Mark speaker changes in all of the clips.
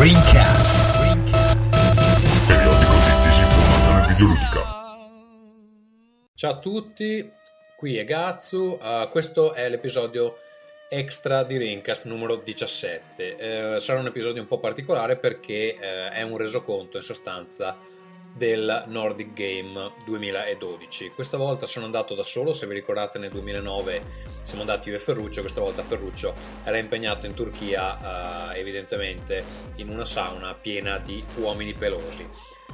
Speaker 1: Rincast.
Speaker 2: Periodico di disinformazione videoludica.
Speaker 3: Ciao a tutti, qui è Gazzu, questo è l'episodio extra di Rincast numero 17. Sarà un episodio un po' particolare perché è un resoconto in sostanza del Nordic Game 2012. Questa volta sono andato da solo, se vi ricordate nel 2009 siamo andati io e Ferruccio, questa volta Ferruccio era impegnato in Turchia, evidentemente in una sauna piena di uomini pelosi.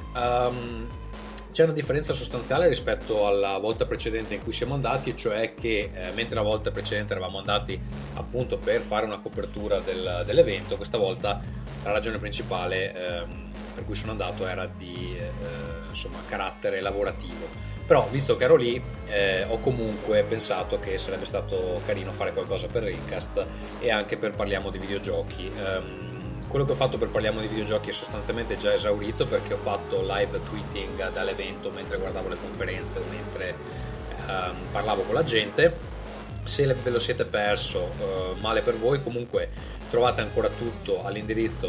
Speaker 3: C'è una differenza sostanziale rispetto alla volta precedente in cui siamo andati, cioè che mentre la volta precedente eravamo andati appunto per fare una copertura dell'evento, questa volta la ragione principale per cui sono andato era di carattere lavorativo. Però visto che ero lì ho comunque pensato che sarebbe stato carino fare qualcosa per Rincast e anche per Parliamo di videogiochi. Quello che ho fatto per Parliamo di videogiochi è sostanzialmente già esaurito, perché ho fatto live tweeting dall'evento mentre guardavo le conferenze o mentre parlavo con la gente. Se ve lo siete perso, male per voi. Comunque trovate ancora tutto all'indirizzo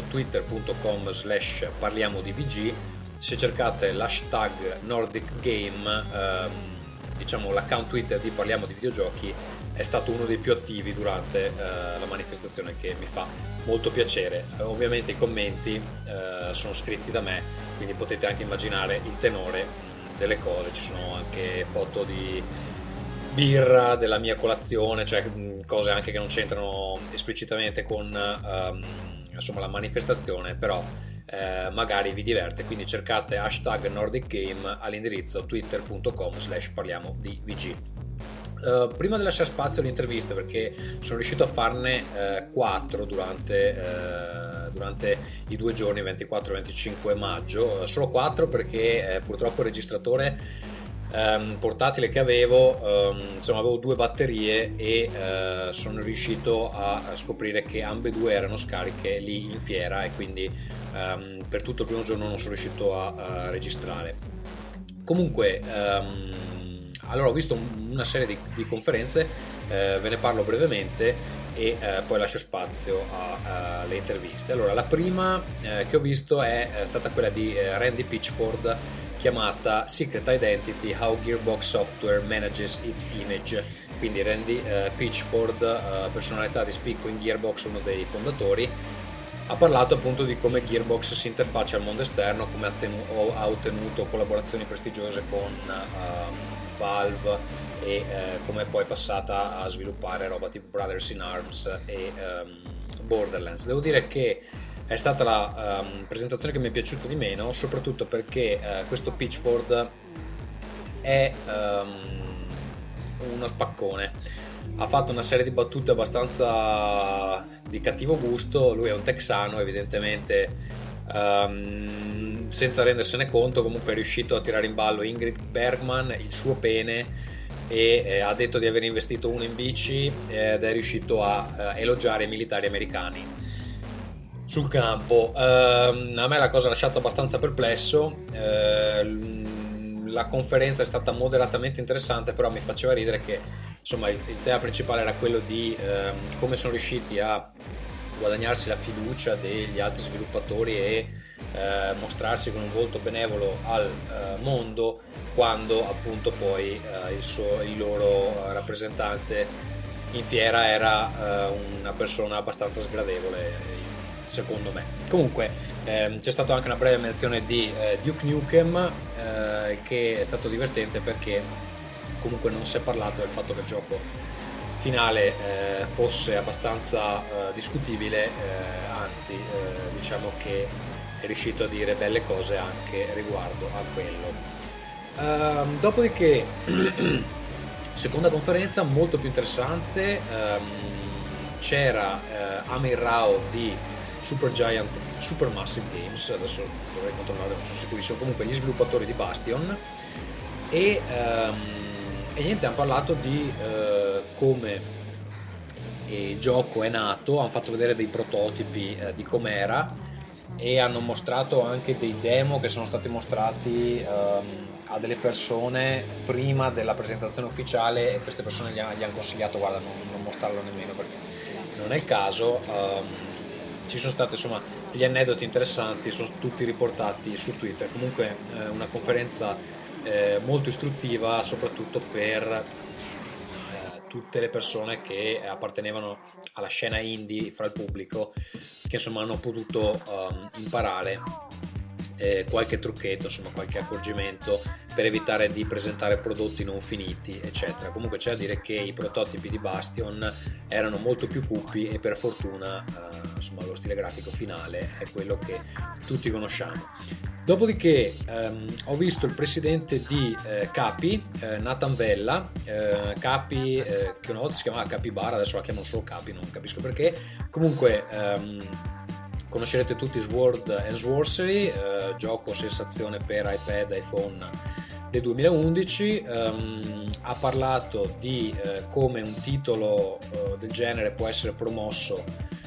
Speaker 3: twitter.com/parliamodivg. Se cercate l'hashtag Nordic Game, diciamo l'account Twitter di Parliamo di videogiochi è stato uno dei più attivi durante la manifestazione, che mi fa molto piacere. Ovviamente i commenti sono scritti da me, quindi potete anche immaginare il tenore delle cose. Ci sono anche foto di birra, della mia colazione, cioè cose anche che non c'entrano esplicitamente con la manifestazione, però magari vi diverte. Quindi cercate hashtag Nordic Game all'indirizzo twitter.com/parliamodivg. Prima di lasciare spazio alle interviste, perché sono riuscito a farne 4 durante i 2 giorni 24 e 25 maggio, solo 4 perché purtroppo il registratore portatile che avevo, avevo 2 batterie e sono riuscito a scoprire che ambedue erano scariche lì in fiera, e quindi per tutto il primo giorno non sono riuscito a registrare. Comunque allora ho visto una serie di conferenze, ve ne parlo brevemente e poi lascio spazio alle interviste. Allora, la prima che ho visto è stata quella di Randy Pitchford, chiamata Secret Identity: How Gearbox Software Manages Its Image. Quindi Randy Pitchford, personalità di spicco in Gearbox, uno dei fondatori, ha parlato appunto di come Gearbox si interfaccia al mondo esterno, come ha ottenuto collaborazioni prestigiose con Valve e come poi è passata a sviluppare roba tipo Brothers in Arms e Borderlands. Devo dire che è stata la presentazione che mi è piaciuta di meno, soprattutto perché questo Pitchford è uno spaccone. Ha fatto una serie di battute abbastanza di cattivo gusto. Lui è un texano, evidentemente senza rendersene conto. Comunque è riuscito a tirare in ballo Ingrid Bergman, il suo pene, e ha detto di aver investito uno in bici, ed è riuscito a elogiare i militari americani sul campo. A me la cosa ha lasciato abbastanza perplesso. La conferenza è stata moderatamente interessante, però mi faceva ridere che insomma il tema principale era quello di come sono riusciti a guadagnarsi la fiducia degli altri sviluppatori e mostrarsi con un volto benevolo al mondo, quando appunto poi il loro rappresentante in fiera era una persona abbastanza sgradevole, secondo me. Comunque c'è stata anche una breve menzione di Duke Nukem, che è stato divertente perché comunque non si è parlato del fatto che il gioco finale fosse abbastanza discutibile, anzi diciamo che è riuscito a dire belle cose anche riguardo a quello. Dopodiché seconda conferenza molto più interessante, c'era Amir Rao di Supermassive Games, adesso dovrei controllare, non sono sicurissimo, comunque gli sviluppatori di Bastion, e niente, hanno parlato di come il gioco è nato, hanno fatto vedere dei prototipi di com'era, e hanno mostrato anche dei demo che sono stati mostrati a delle persone prima della presentazione ufficiale, e queste persone gli hanno consigliato: guarda, non mostrarlo nemmeno perché non è il caso. Ci sono state insomma gli aneddoti interessanti sono tutti riportati su Twitter. Comunque una conferenza molto istruttiva, soprattutto per tutte le persone che appartenevano alla scena indie fra il pubblico, che insomma hanno potuto imparare qualche trucchetto, insomma qualche accorgimento per evitare di presentare prodotti non finiti, eccetera. Comunque c'è da dire che i prototipi di Bastion erano molto più cupi e per fortuna insomma lo stile grafico finale è quello che tutti conosciamo. Dopodiché ho visto il presidente di Capi, Nathan Vella, Capi che una volta si chiamava Capybara, adesso la chiamano solo Capi, non capisco perché. Comunque conoscerete tutti Sword and Sorcery, gioco sensazione per iPad e iPhone del 2011. Ha parlato di come un titolo del genere può essere promosso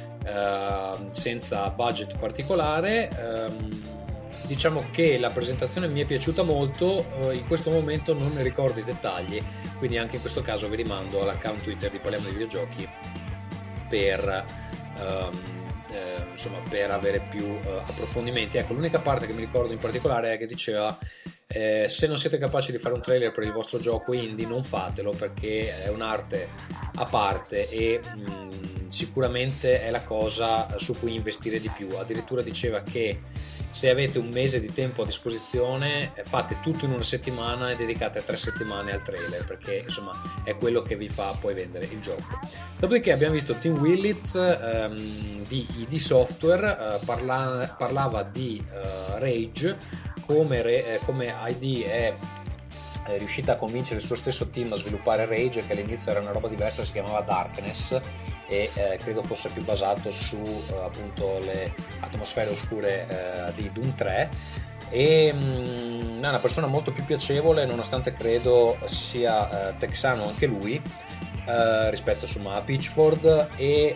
Speaker 3: senza budget particolare. Diciamo che la presentazione mi è piaciuta molto, in questo momento non ne ricordo i dettagli, quindi anche in questo caso vi rimando all'account Twitter di Parliamo di Videogiochi per insomma per avere più approfondimenti. Ecco, l'unica parte che mi ricordo in particolare è che diceva se non siete capaci di fare un trailer per il vostro gioco indie non fatelo, perché è un'arte a parte e sicuramente è la cosa su cui investire di più. Addirittura diceva che se avete un mese di tempo a disposizione fate tutto in una settimana e dedicate 3 settimane al trailer, perché insomma è quello che vi fa poi vendere il gioco. Dopodiché abbiamo visto Tim Willits di ID Software, parlava di Rage, come ID è riuscita a convincere il suo stesso team a sviluppare Rage, che all'inizio era una roba diversa, si chiamava Darkness e credo fosse più basato su appunto le atmosfere oscure di Doom 3, e è una persona molto più piacevole, nonostante credo sia texano anche lui rispetto insomma a Pitchford, e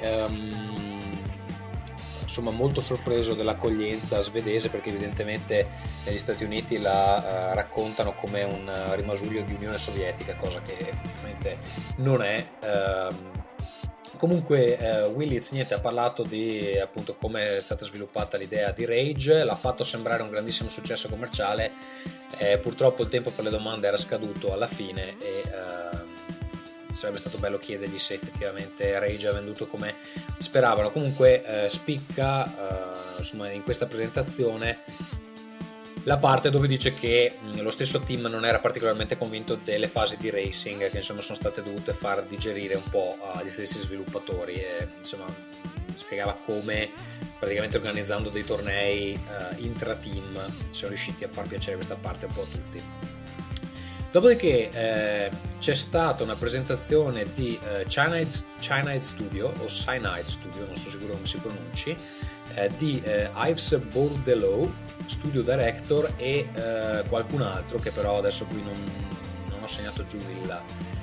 Speaker 3: insomma molto sorpreso dell'accoglienza svedese, perché evidentemente negli Stati Uniti la raccontano come un rimasuglio di Unione Sovietica, cosa che effettivamente non è. Comunque Willits ha parlato di appunto come è stata sviluppata l'idea di Rage, l'ha fatto sembrare un grandissimo successo commerciale, purtroppo il tempo per le domande era scaduto alla fine e sarebbe stato bello chiedergli se effettivamente Rage ha venduto come speravano. Comunque spicca insomma in questa presentazione la parte dove dice che lo stesso team non era particolarmente convinto delle fasi di racing, che insomma sono state dovute far digerire un po' agli stessi sviluppatori, e insomma spiegava come praticamente organizzando dei tornei intra-team sono riusciti a far piacere questa parte un po' a tutti. Dopodiché c'è stata una presentazione di Cyanide Studio o Cyanide Studio, non so sicuro come si pronunci, di Yves Bourdelot, studio director, e qualcun altro che però adesso qui non ho segnato giù il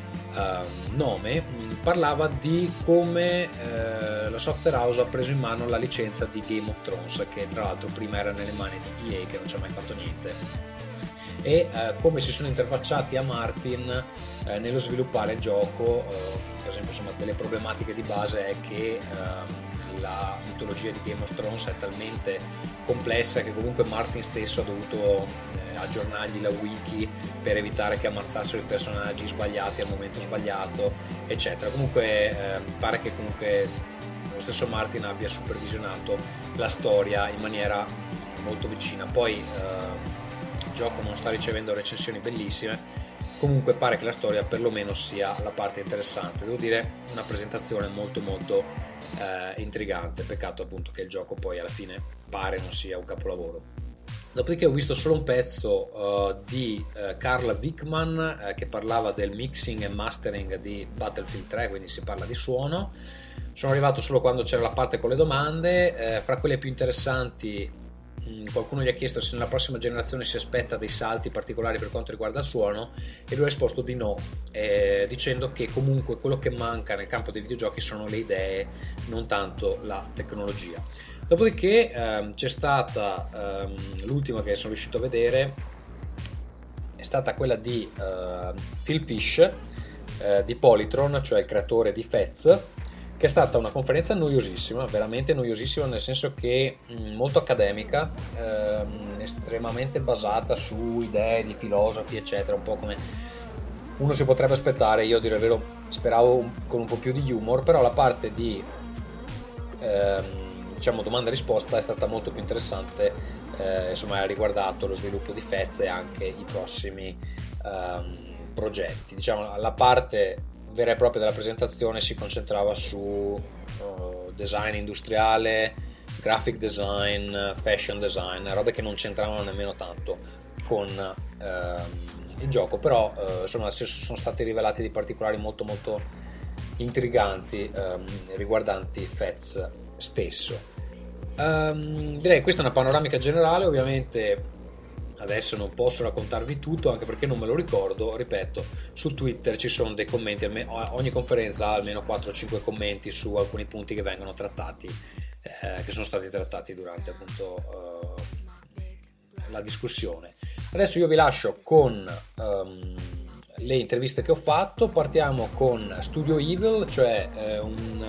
Speaker 3: nome. Parlava di come la software house ha preso in mano la licenza di Game of Thrones, che tra l'altro prima era nelle mani di EA, che non ci ha mai fatto niente, e come si sono interfacciati a Martin nello sviluppare il gioco. Per esempio insomma delle problematiche di base è che la mitologia di Game of Thrones è talmente complessa che comunque Martin stesso ha dovuto aggiornargli la wiki per evitare che ammazzassero i personaggi sbagliati al momento sbagliato, eccetera. Comunque pare che comunque lo stesso Martin abbia supervisionato la storia in maniera molto vicina. Poi il gioco non sta ricevendo recensioni bellissime, comunque pare che la storia perlomeno sia la parte interessante. Devo dire, una presentazione molto molto intrigante. Peccato appunto che il gioco poi alla fine pare non sia un capolavoro. Dopodiché ho visto solo un pezzo di Carl Wickman che parlava del mixing e mastering di Battlefield 3, quindi si parla di suono. Sono arrivato solo quando c'era la parte con le domande. Fra quelle più interessanti, qualcuno gli ha chiesto se nella prossima generazione si aspetta dei salti particolari per quanto riguarda il suono, e lui ha risposto di no, dicendo che comunque quello che manca nel campo dei videogiochi sono le idee, non tanto la tecnologia. Dopodiché c'è stata l'ultima che sono riuscito a vedere, è stata quella di Phil Fish di Polytron, cioè il creatore di Fez, che è stata una conferenza noiosissima, veramente noiosissima, nel senso che molto accademica, estremamente basata su idee di filosofi eccetera, un po' come uno si potrebbe aspettare. Io a dire il vero speravo con un po' più di humor, però la parte di diciamo domanda e risposta è stata molto più interessante, insomma ha riguardato lo sviluppo di Fez e anche i prossimi progetti. Diciamo la parte vera e propria della presentazione si concentrava su design industriale, graphic design, fashion design, robe che non c'entravano nemmeno tanto con il gioco, però insomma sono stati rivelati dei particolari molto molto intriganti riguardanti Fez stesso. Direi questa è una panoramica generale, ovviamente adesso non posso raccontarvi tutto anche perché non me lo ricordo, ripeto, su Twitter ci sono dei commenti, ogni conferenza ha almeno 4-5 commenti su alcuni punti che vengono trattati, che sono stati trattati durante appunto la discussione. Adesso io vi lascio con le interviste che ho fatto. Partiamo con Studio Evil, cioè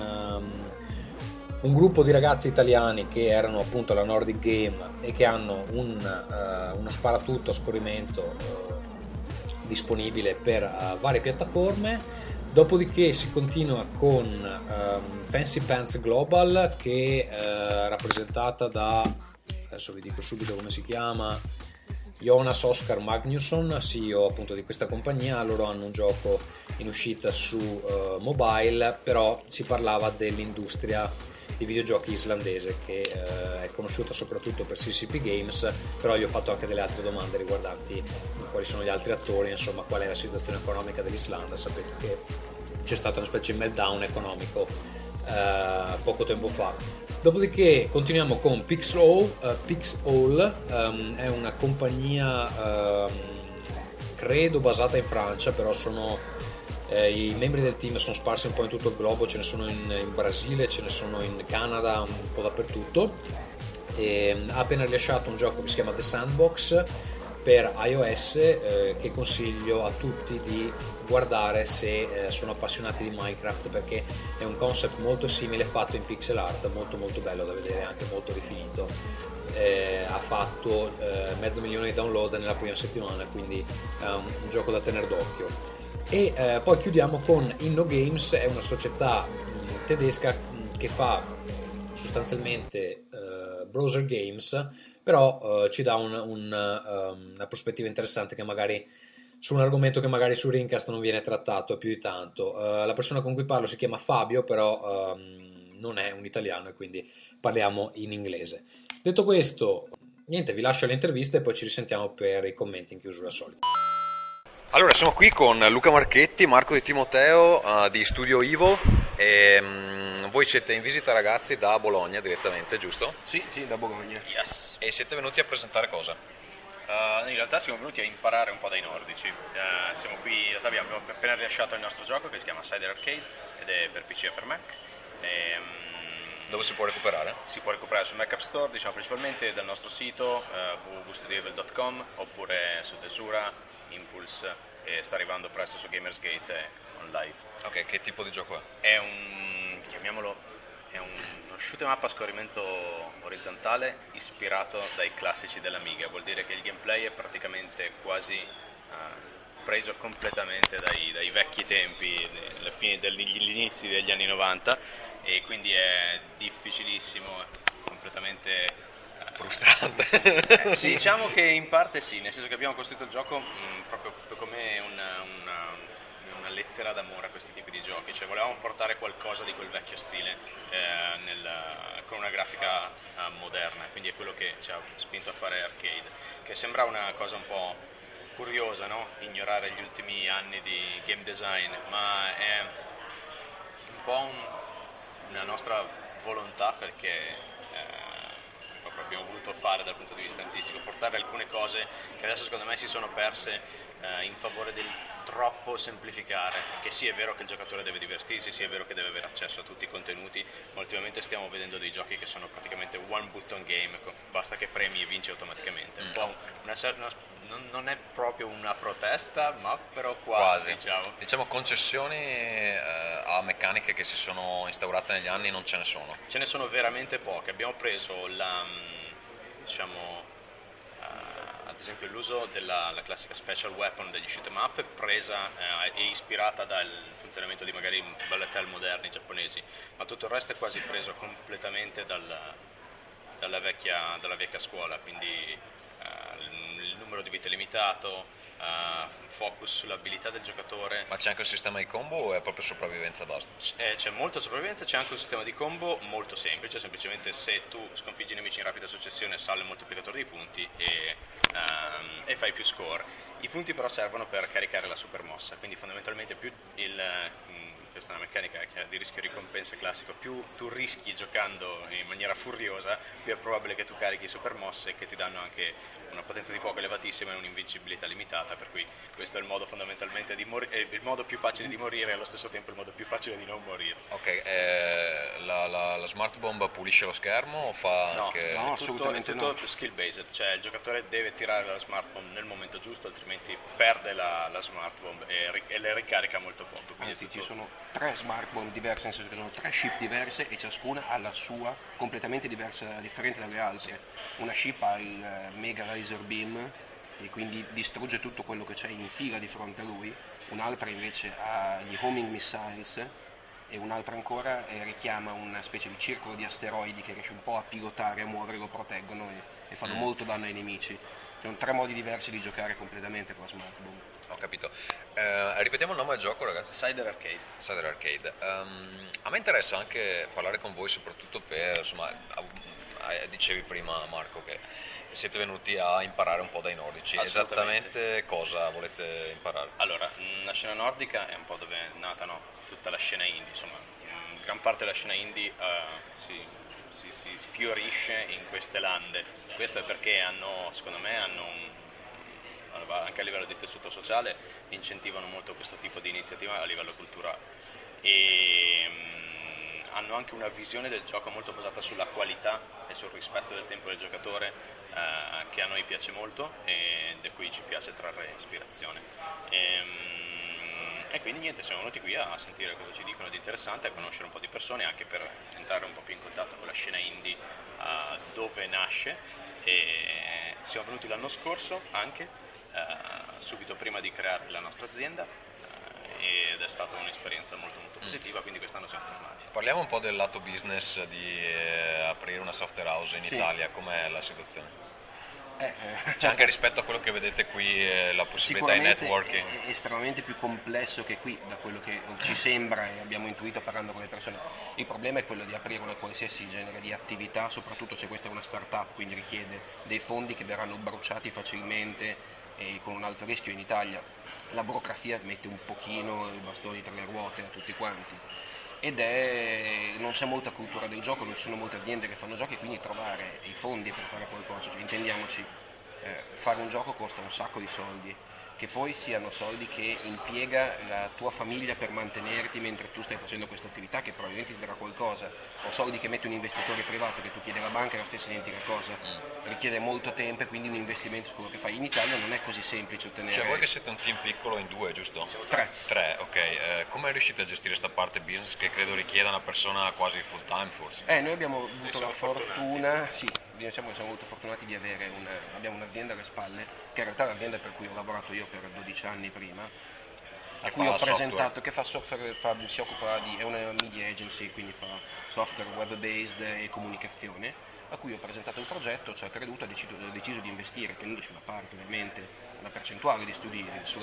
Speaker 3: un gruppo di ragazzi italiani che erano appunto alla Nordic Game e che hanno uno sparatutto a scorrimento disponibile per varie piattaforme. Dopodiché si continua con Fancy Pants Global, che è rappresentata da, adesso vi dico subito come si chiama, Jonas Oskar Magnusson, CEO appunto di questa compagnia. Loro hanno un gioco in uscita su mobile, però si parlava dell'industria di videogiochi islandese che è conosciuta soprattutto per CCP Games, però gli ho fatto anche delle altre domande riguardanti quali sono gli altri attori, insomma qual è la situazione economica dell'Islanda. Sapete che c'è stata una specie di meltdown economico poco tempo fa. Dopodiché continuiamo con Pixel, è una compagnia credo basata in Francia, però i membri del team sono sparsi un po' in tutto il globo, ce ne sono in Brasile, ce ne sono in Canada, un po' dappertutto. Ha appena rilasciato un gioco che si chiama The Sandbox per iOS, che consiglio a tutti di guardare se sono appassionati di Minecraft, perché è un concept molto simile fatto in pixel art, molto molto bello da vedere, anche molto rifinito. Ha fatto 500.000 di download nella prima settimana, quindi è un gioco da tenere d'occhio. E poi chiudiamo con InnoGames, è una società tedesca che fa sostanzialmente browser games, però ci dà una prospettiva interessante che magari su un argomento che magari su Rincast non viene trattato più di tanto. La persona con cui parlo si chiama Fabio, però non è un italiano e quindi parliamo in inglese. Detto questo, niente, vi lascio le interviste e poi ci risentiamo per i commenti in chiusura solita. Allora, siamo qui con Luca Marchetti, Marco Di Timoteo di Studio Evil e voi siete in visita ragazzi da Bologna direttamente, giusto?
Speaker 1: Sì, da Bologna.
Speaker 4: Yes.
Speaker 3: E siete venuti a presentare cosa?
Speaker 4: In realtà siamo venuti a imparare un po' dai nordici. Siamo qui, in realtà abbiamo appena rilasciato il nostro gioco che si chiama Cider Arcade ed è per PC e per Mac.
Speaker 3: Dove si può recuperare?
Speaker 4: Si può recuperare sul Mac App Store, diciamo principalmente dal nostro sito www.studioevil.com oppure su Desura, Impulse, e sta arrivando presto su Gamersgate on live.
Speaker 3: Ok, che tipo di gioco è?
Speaker 4: È uno shoot 'em up a scorrimento orizzontale ispirato dai classici dell'Amiga. Vuol dire che il gameplay è praticamente quasi preso completamente dai vecchi tempi, dagli inizi degli anni 90, e quindi è difficilissimo, completamente
Speaker 3: frustrante.
Speaker 4: Sì, diciamo che in parte sì, nel senso che abbiamo costruito il gioco proprio come una lettera d'amore a questi tipi di giochi, cioè volevamo portare qualcosa di quel vecchio stile con una grafica moderna, quindi è quello che ci ha spinto a fare arcade, che sembra una cosa un po' curiosa, no? Ignorare gli ultimi anni di game design, ma è un po' una nostra volontà, perché proprio abbiamo voluto fare dal punto di vista artistico, portare alcune cose che adesso secondo me si sono perse in favore troppo semplificare, perché sì, è vero che il giocatore deve divertirsi, sì, è vero che deve avere accesso a tutti i contenuti, ma ultimamente stiamo vedendo dei giochi che sono praticamente one button game, basta che premi e vinci automaticamente. Un po' non è proprio una protesta, ma però quasi.
Speaker 1: Diciamo concessioni a meccaniche che si sono instaurate negli anni non ce ne sono.
Speaker 4: Ce ne sono veramente poche. Abbiamo preso ad esempio l'uso della classica special weapon degli shoot 'em up, presa e ispirata dal funzionamento di magari bullet hell moderni giapponesi, ma tutto il resto è quasi preso completamente dalla vecchia scuola, quindi il numero di vite limitato, focus sull'abilità del giocatore.
Speaker 1: Ma c'è anche un sistema di combo o è proprio sopravvivenza basta?
Speaker 4: C'è molta sopravvivenza, c'è anche un sistema di combo molto semplice, semplicemente se tu sconfiggi i nemici in rapida successione sale il moltiplicatore di punti e fai più score. I punti però servono per caricare la super mossa, quindi fondamentalmente più questa è una meccanica di rischio ricompensa classico, più tu rischi giocando in maniera furiosa, più è probabile che tu carichi super mosse che ti danno anche una potenza di fuoco elevatissima e un'invincibilità limitata, per cui questo è il modo fondamentalmente il modo più facile di morire e allo stesso tempo il modo più facile di non morire.
Speaker 1: Ok, la smart bomb pulisce lo schermo o fa anche...
Speaker 4: No, assolutamente tutto skill based, cioè il giocatore deve tirare la smart bomb nel momento giusto, altrimenti perde la smart bomb e le ricarica molto poco.
Speaker 5: Anzi, ci sono 3 smart bomb diverse, nel senso che sono 3 ship diverse e ciascuna ha la sua completamente diversa, differente dalle altre. Una ship ha il mega laser beam e quindi distrugge tutto quello che c'è in fila di fronte a lui, un'altra invece ha gli homing missiles e un'altra ancora richiama una specie di circolo di asteroidi che riesce un po' a pilotare, a muovere, lo proteggono e fanno molto danno ai nemici. Sono 3 modi diversi di giocare completamente con la smart bomb.
Speaker 1: Ho capito. Ripetiamo il nome del gioco, ragazzi.
Speaker 4: Cider Arcade.
Speaker 1: Cider Arcade. A me interessa anche parlare con voi soprattutto per, insomma, dicevi prima Marco che siete venuti a imparare un po' dai nordici. Esattamente cosa volete imparare?
Speaker 4: Allora, la scena nordica è un po' dove è nata tutta la scena indie, insomma, gran parte della scena indie si sfiorisce in queste lande. Questo è perché secondo me anche a livello di tessuto sociale incentivano molto questo tipo di iniziativa a livello culturale e hanno anche una visione del gioco molto basata sulla qualità e sul rispetto del tempo del giocatore, che a noi piace molto e da cui ci piace trarre ispirazione. E quindi niente, siamo venuti qui a sentire cosa ci dicono di interessante, a conoscere un po' di persone, anche per entrare un po' più in contatto con la scena indie, dove nasce. E siamo venuti l'anno scorso anche, subito prima di creare la nostra azienda, ed è stata un'esperienza molto molto positiva, quindi quest'anno siamo tornati.
Speaker 1: Parliamo un po' del lato business di aprire una software house in Italia, com'è la situazione? C'è anche rispetto a quello che vedete qui, la possibilità di networking.
Speaker 5: È estremamente più complesso che qui, da quello che ci sembra e abbiamo intuito parlando con le persone. Il problema è quello di aprire una qualsiasi genere di attività, soprattutto se questa è una start-up, quindi richiede dei fondi che verranno bruciati facilmente e con un alto rischio. In Italia la burocrazia mette un pochino i bastoni tra le ruote a tutti quanti. Non c'è molta cultura del gioco, non ci sono molte aziende che fanno giochi, quindi trovare i fondi per fare qualcosa, cioè, intendiamoci, fare un gioco costa un sacco di soldi, che poi siano soldi che impiega la tua famiglia per mantenerti mentre tu stai facendo questa attività che probabilmente ti darà qualcosa, o soldi che mette un investitore privato che tu chiedi alla banca è la stessa identica cosa, richiede molto tempo e quindi un investimento su quello che fai. In Italia non è così semplice ottenere.
Speaker 1: Cioè voi che siete un team piccolo in 2, giusto?
Speaker 5: 3,
Speaker 1: ok. Come riuscite a gestire questa parte business che credo richieda una persona quasi full time forse?
Speaker 5: Noi abbiamo avuto la fortuna, diciamo che siamo molto fortunati di avere abbiamo un'azienda alle spalle, che in realtà è l'azienda per cui ho lavorato io per 12 anni prima, a cui ho presentato, che fa software, si occupa è una media agency, quindi fa software web based e comunicazione, a cui ho presentato il progetto, ci ha creduto, ha deciso di investire, tenendoci una parte ovviamente, una percentuale di studi su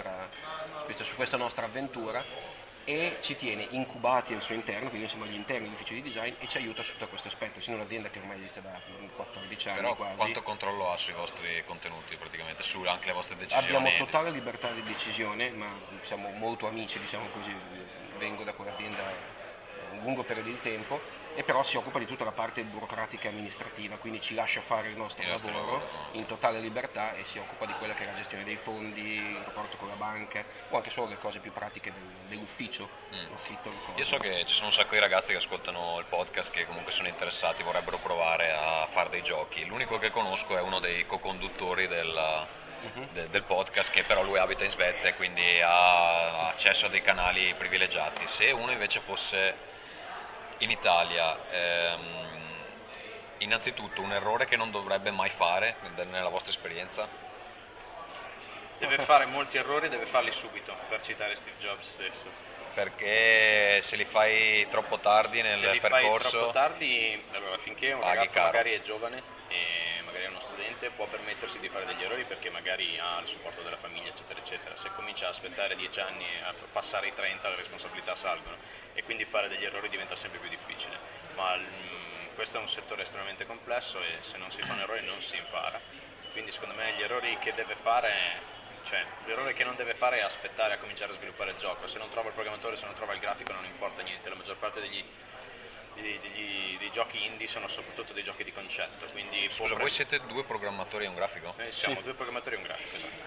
Speaker 5: questa nostra avventura, e ci tiene incubati al suo interno, quindi siamo agli interni dell'ufficio di design, e ci aiuta sotto questo aspetto, essendo un'azienda che ormai esiste da 14 anni.
Speaker 1: Però
Speaker 5: quasi.
Speaker 1: Quanto controllo ha sui vostri contenuti praticamente, su anche le vostre decisioni?
Speaker 5: Abbiamo totale libertà di decisione, ma siamo molto amici, diciamo così, vengo da quell'azienda un lungo periodo di tempo e però si occupa di tutta la parte burocratica e amministrativa, quindi ci lascia fare il nostro lavoro in totale libertà e si occupa di quella che è la gestione dei fondi, il rapporto con la banca o anche solo le cose più pratiche dell'ufficio, l'affitto, le cose.
Speaker 1: Io so che ci sono un sacco di ragazzi che ascoltano il podcast che comunque sono interessati, vorrebbero provare a fare dei giochi. L'unico che conosco è uno dei co-conduttori del podcast, che però lui abita in Svezia e quindi ha accesso a dei canali privilegiati. Se uno invece fosse in Italia, innanzitutto un errore che non dovrebbe mai fare nella vostra esperienza?
Speaker 4: Deve fare molti errori, deve farli subito, per citare Steve Jobs stesso.
Speaker 1: Perché se li fai troppo tardi nel
Speaker 4: Se li
Speaker 1: percorso,
Speaker 4: fai troppo tardi, allora finché un
Speaker 1: paghi
Speaker 4: ragazzo
Speaker 1: caro.
Speaker 4: magari è giovane e magari è uno studente, può permettersi di fare degli errori perché magari ha il supporto della famiglia, eccetera eccetera. Se comincia a aspettare 10 anni e a passare i 30, le responsabilità salgono e quindi fare degli errori diventa sempre più difficile. Ma questo è un settore estremamente complesso e se non si fanno errori non si impara. Quindi secondo me gli errori che deve fare, cioè l'errore che non deve fare è aspettare a cominciare a sviluppare il gioco. Se non trova il programmatore, se non trova il grafico, non importa niente. La maggior parte dei giochi indie sono soprattutto dei giochi di concetto. Quindi
Speaker 1: Scusa, voi siete 2 programmatori e un grafico?
Speaker 4: siamo 2 programmatori e un grafico, esatto.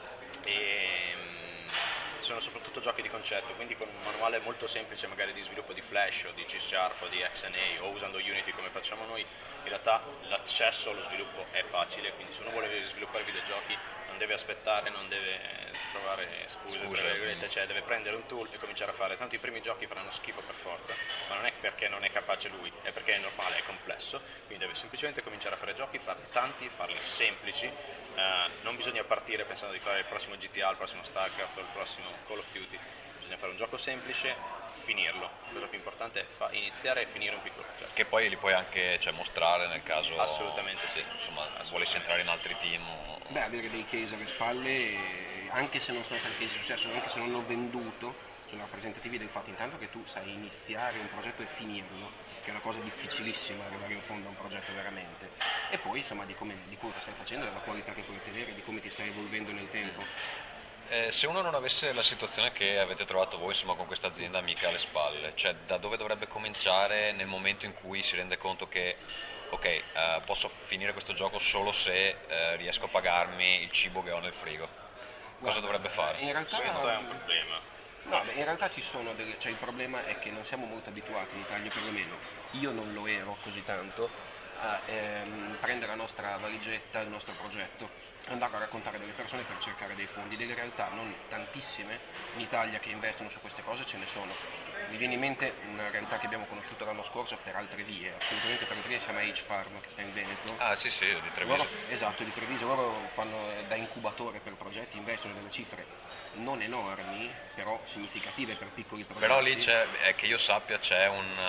Speaker 4: Sono soprattutto giochi di concetto, quindi con un manuale molto semplice magari di sviluppo di Flash o di C# o di XNA o usando Unity come facciamo noi, in realtà l'accesso allo sviluppo è facile, quindi se uno vuole sviluppare videogiochi non deve aspettare, non deve trovare scuse. Cioè deve prendere un tool e cominciare a fare. Tanto i primi giochi faranno schifo per forza, ma non è perché non è capace lui, è perché è normale, è complesso, quindi deve semplicemente cominciare a fare giochi, farli tanti, farli semplici. Non bisogna partire pensando di fare il prossimo GTA, il prossimo StarCraft o il prossimo Call of Duty, bisogna fare un gioco semplice, finirlo. La cosa più importante è iniziare e finire un piccolo progetto.
Speaker 1: Che poi li puoi anche mostrare nel caso.
Speaker 4: Assolutamente sì.
Speaker 1: Insomma, volessi entrare in altri team.
Speaker 5: Beh, avere dei case alle spalle, anche se non sono stati case di successo, anche se non hanno venduto, sono rappresentativi del fatto intanto che tu sai iniziare un progetto e finirlo, che è una cosa difficilissima arrivare in fondo a un progetto veramente, e poi insomma di quello che stai facendo, della qualità che puoi ottenere, di come ti stai evolvendo nel tempo.
Speaker 1: Se uno non avesse la situazione che avete trovato voi, insomma, con questa azienda amica alle spalle, cioè da dove dovrebbe cominciare nel momento in cui si rende conto che ok, posso finire questo gioco solo se riesco a pagarmi il cibo che ho nel frigo? Cosa dovrebbe fare?
Speaker 5: In realtà,
Speaker 4: Questo è un problema.
Speaker 5: No, beh, in realtà ci sono cioè il problema è che non siamo molto abituati in Italia, perlomeno io non lo ero così tanto, a prendere la nostra valigetta, il nostro progetto, andare a raccontare delle persone per cercare dei fondi. Delle realtà non tantissime in Italia che investono su queste cose ce ne sono. Mi viene in mente una realtà che abbiamo conosciuto l'anno scorso per altre vie, assolutamente per altre vie, si chiama H-Farm, che sta in Veneto.
Speaker 1: Ah sì, di Treviso.
Speaker 5: Esatto, di Treviso. Loro fanno da incubatore per progetti, investono delle cifre non enormi, però significative per piccoli progetti.
Speaker 1: Però lì che io sappia c'è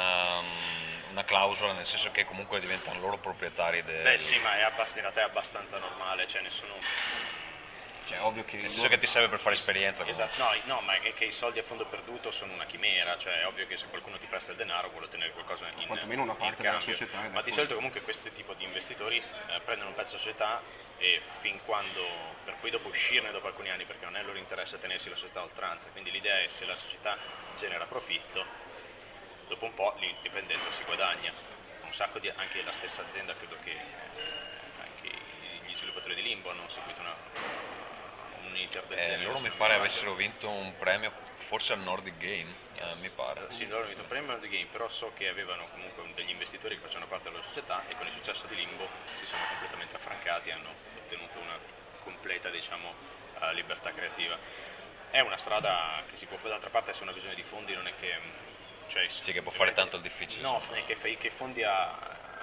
Speaker 1: una clausola, nel senso che comunque diventano loro proprietari
Speaker 4: Beh sì, ma in realtà è abbastanza normale, cioè nessuno...
Speaker 5: Cioè, ovvio che
Speaker 1: nel senso che ti serve per fare esperienza.
Speaker 4: Esatto, no, ma è che i soldi a fondo perduto sono una chimera, cioè è ovvio che se qualcuno ti presta il denaro vuole ottenere qualcosa in
Speaker 5: quantomeno una parte
Speaker 4: in
Speaker 5: della
Speaker 4: cambio.
Speaker 5: società.
Speaker 4: Ma di solito comunque questi tipi di investitori prendono un pezzo di società e fin quando, per poi dopo uscirne dopo alcuni anni, perché non è il loro interesse tenersi la società a oltranza, quindi l'idea è se la società genera profitto, dopo un po' l'indipendenza si guadagna. Un sacco di, anche la stessa azienda, credo che anche gli sviluppatori di Limbo hanno seguito un iter del genere.
Speaker 1: Loro mi pare avessero vinto un premio forse al Nordic Game, mi pare.
Speaker 4: Sì, loro hanno vinto un premio al Nordic Game, però so che avevano comunque degli investitori che facevano parte della società e con il successo di Limbo si sono completamente affrancati e hanno ottenuto una completa, diciamo, libertà creativa. È una strada che si può fare, d'altra parte se una visione di fondi non è che... Cioè,
Speaker 1: sì, che può fare tanto il difficile.
Speaker 4: No, è che fondi a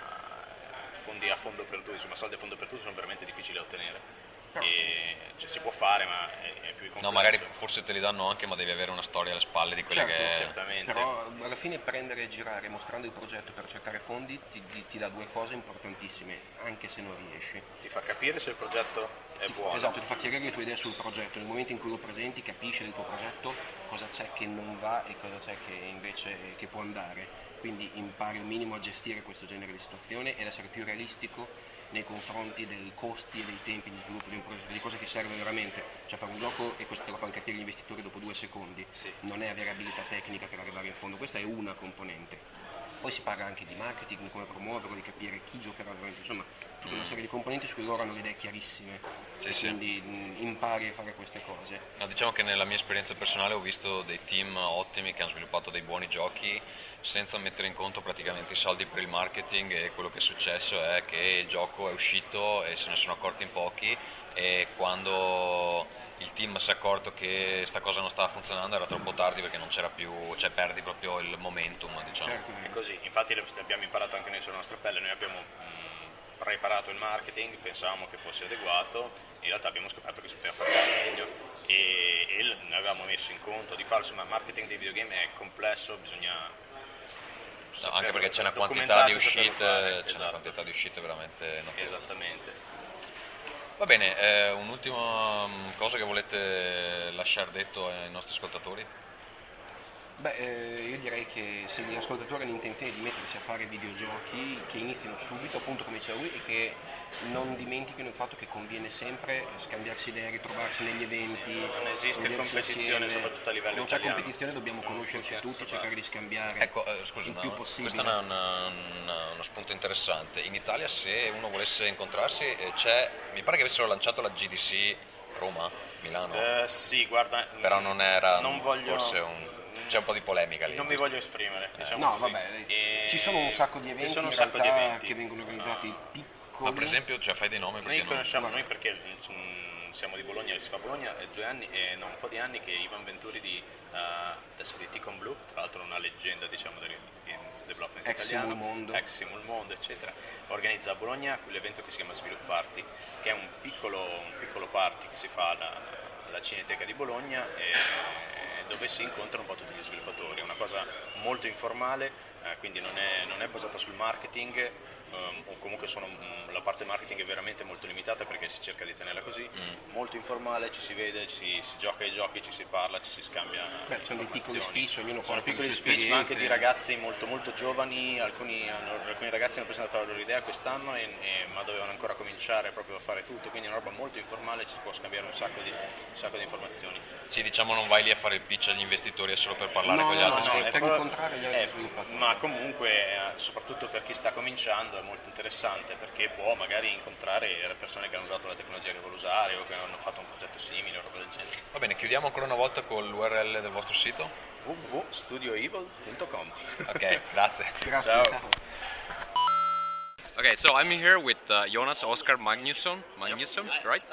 Speaker 4: fondo perduto, insomma soldi a fondo perduto sono veramente difficili da ottenere. E, cioè, si può fare, ma è più complesso.
Speaker 1: No, magari forse te li danno anche, ma devi avere una storia alle spalle di quelle che...
Speaker 4: Certamente.
Speaker 5: Però alla fine prendere e girare mostrando il progetto per cercare fondi ti dà due cose importantissime, anche se non riesci.
Speaker 4: Ti fa capire se il progetto è buono.
Speaker 5: Esatto, ti fa chiarire le tue idee sul progetto. Nel momento in cui lo presenti capisci del tuo progetto cosa c'è che non va e cosa c'è che invece che può andare. Quindi impari un minimo a gestire questo genere di situazione ed essere più realistico nei confronti dei costi e dei tempi di sviluppo di un progetto, di cosa ti serve veramente. Cioè fare un gioco, e questo te lo fanno capire gli investitori dopo 2 secondi,
Speaker 4: sì.
Speaker 5: Non è avere abilità tecnica per arrivare in fondo, questa è una componente. Poi si parla anche di marketing, di come promuoverlo, di capire chi giocherà veramente, insomma tutta una serie di componenti su cui loro hanno le idee chiarissime, quindi impari a fare queste cose.
Speaker 1: No, diciamo che nella mia esperienza personale ho visto dei team ottimi che hanno sviluppato dei buoni giochi senza mettere in conto praticamente i soldi per il marketing, e quello che è successo è che il gioco è uscito e se ne sono accorti in pochi, e quando il team si è accorto che sta cosa non stava funzionando era troppo tardi, perché non c'era più, cioè perdi proprio il momentum, diciamo.
Speaker 5: Certo.
Speaker 4: È così, infatti abbiamo imparato anche noi sulla nostra pelle, noi abbiamo preparato il marketing, pensavamo che fosse adeguato, in realtà abbiamo scoperto che si poteva fare meglio e ne avevamo messo in conto di farlo, ma il marketing dei videogame è complesso, bisogna
Speaker 1: anche perché c'è una quantità di
Speaker 4: uscite,
Speaker 1: veramente notevole.
Speaker 4: Esattamente.
Speaker 1: Va bene, un'ultima cosa che volete lasciare detto ai nostri ascoltatori?
Speaker 5: Io direi che se gli ascoltatori hanno intenzione di mettersi a fare videogiochi, che inizino subito, appunto come diceva lui, e che non dimentichino il fatto che conviene sempre scambiarsi idee, ritrovarsi negli eventi.
Speaker 4: Non esiste competizione,
Speaker 5: insieme.
Speaker 4: soprattutto a livello
Speaker 5: non c'è
Speaker 4: italiano.
Speaker 5: competizione, dobbiamo conoscerci tutti, cercare di scambiare
Speaker 1: Scusa,
Speaker 5: il più possibile.
Speaker 1: questo è uno spunto interessante. In Italia, se uno volesse incontrarsi, mi pare che avessero lanciato la GDC Roma, Milano.
Speaker 4: Sì, guarda,
Speaker 1: però non era
Speaker 4: voglio...
Speaker 1: c'è un po' di polemica lì.
Speaker 4: Non mi voglio esprimere, diciamo
Speaker 5: No,
Speaker 4: così.
Speaker 5: vabbè, ci sono un sacco di eventi in realtà che vengono organizzati piccoli.
Speaker 1: Ma per esempio, fai dei nomi?
Speaker 4: Noi conosciamo, noi perché siamo di Bologna, si fa a Bologna, è 2 anni e un po' di anni che Ivan Venturi di Ticon Blue, tra l'altro una leggenda, diciamo, del development italiano, ex Simul Mondo, eccetera, organizza a Bologna quell'evento che si chiama Svilup Party, che è un piccolo party che si fa alla Cineteca di Bologna, dove si incontrano un po' tutti gli sviluppatori. È una cosa molto informale, quindi non è basata sul marketing, o comunque la parte marketing è veramente molto limitata perché si cerca di tenerla così, molto informale, ci si vede, si gioca ai giochi, ci si parla, ci si scambia
Speaker 5: sono dei piccoli speech, ognuno
Speaker 4: sono
Speaker 5: porta
Speaker 4: piccoli
Speaker 5: le sue
Speaker 4: speech, ma anche
Speaker 5: esperienze.
Speaker 4: di ragazzi molto molto giovani, alcuni ragazzi hanno presentato la loro idea quest'anno ma dovevano ancora cominciare proprio a fare tutto, quindi è una roba molto informale, ci si può scambiare un sacco di informazioni.
Speaker 1: Sì, diciamo, non vai lì a fare il pitch agli investitori, è solo per parlare con gli altri
Speaker 5: No,
Speaker 1: sviluppatori.
Speaker 5: per incontrare gli altri sviluppatori.
Speaker 4: Ma comunque, soprattutto per chi sta cominciando, è molto interessante perché può magari incontrare persone che hanno usato la tecnologia che vuole usare o che hanno fatto un progetto simile o roba del genere.
Speaker 1: Va bene, chiudiamo ancora una volta con l'URL del vostro sito.
Speaker 4: www.studioevil.com.
Speaker 1: Ok, grazie.
Speaker 5: Grazie.
Speaker 4: Ciao.
Speaker 5: Ciao.
Speaker 1: Okay, so I'm here with Jonas Oskar Magnusson, right?